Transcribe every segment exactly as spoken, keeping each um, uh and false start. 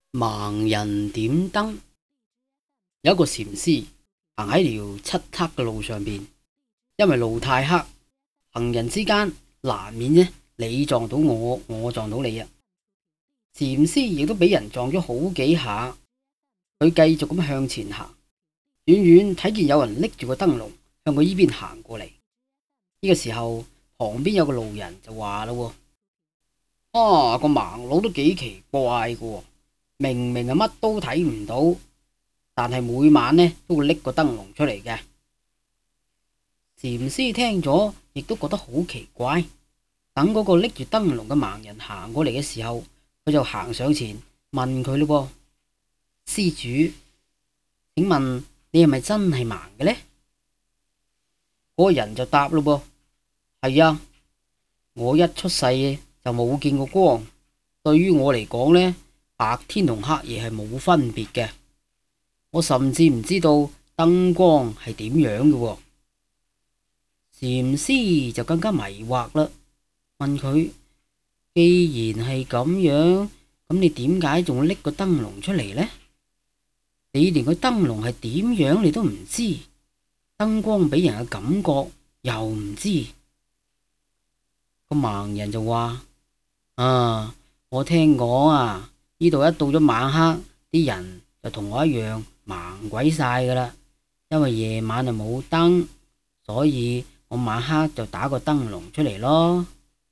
盲人點燈。有一個禪師行喺條漆黑嘅路上邊，因為路太黑，行人之間難免呢，你撞到我，我撞到你啊。禪師亦都俾人撞咗好幾下，佢繼續咁向前行，遠遠睇見有人拎住個燈籠向佢依邊行過嚟。呢個時候，旁邊有個路人就話啦：啊，個盲佬都幾奇怪噶，明明係乜都睇唔到，但係每晚呢都會拎個燈籠出嚟嘅。禪師聽咗亦都覺得好奇怪。等嗰個拎住燈籠嘅盲人行過嚟嘅時候，佢就行上前問佢咯：施主，請問你係咪真係盲嘅呢？嗰個人就答咯：係啊，我一出世就冇見過光，對於我嚟講呢，白天同黑夜係冇分別嘅。我甚至唔知道燈光係點樣嘅。禪師就更加迷惑啦，問佢：既然係咁樣，咁你點解仲拎個燈籠出嚟呢？你連個燈籠係點樣你都唔知，燈光俾人嘅感覺又唔知。個盲人就話：啊，我聽講啊，呢度一到咗晚黑，啲人就同我一樣盲鬼晒噶啦，因為夜晚就冇燈，所以我晚黑就打個燈籠出嚟咯。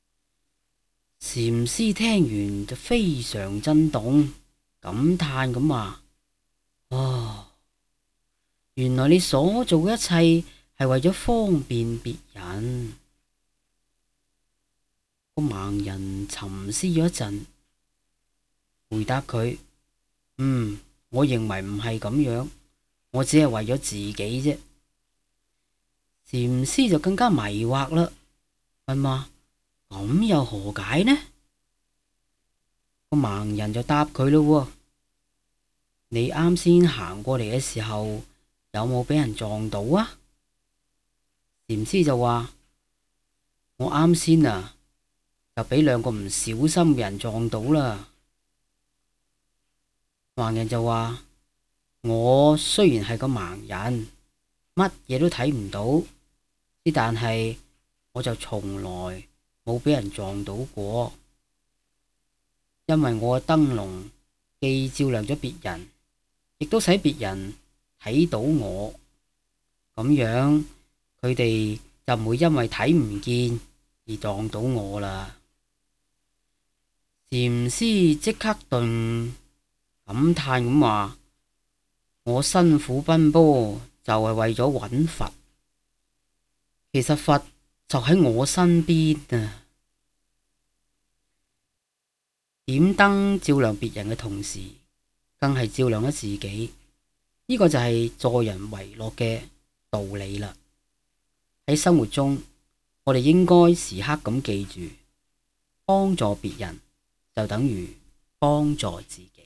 禪師聽完就非常震動，感嘆咁話：哦，原來你所做嘅一切係為咗方便別人。個盲人沉思咗一陣，回答佢：嗯，我認為唔係咁樣，我只係為咗自己啫。禪師就更加迷惑啦，問話：咁又何解呢？個盲人就答佢咯：你啱先行過嚟嘅時候，有冇俾人撞到啊？禪師就話：我啱先啊，就俾兩個唔小心嘅人撞到啦。盲人就話：我雖然係個盲人，乜嘢都睇唔到，但係我就從來冇俾人撞到過，因為我嘅燈籠既照亮咗別人，亦都使別人睇到我，咁樣佢哋就唔會因為睇唔見而撞到我啦。禪師即刻頓感嘆咁話：我辛苦奔波就係為咗揾佛，其實佛就喺我身邊啊！點燈照亮別人嘅同時，更係照亮咗自己，呢個就係助人為樂嘅道理啦。喺生活中，我哋應該時刻咁記住，幫助別人就等於幫助自己。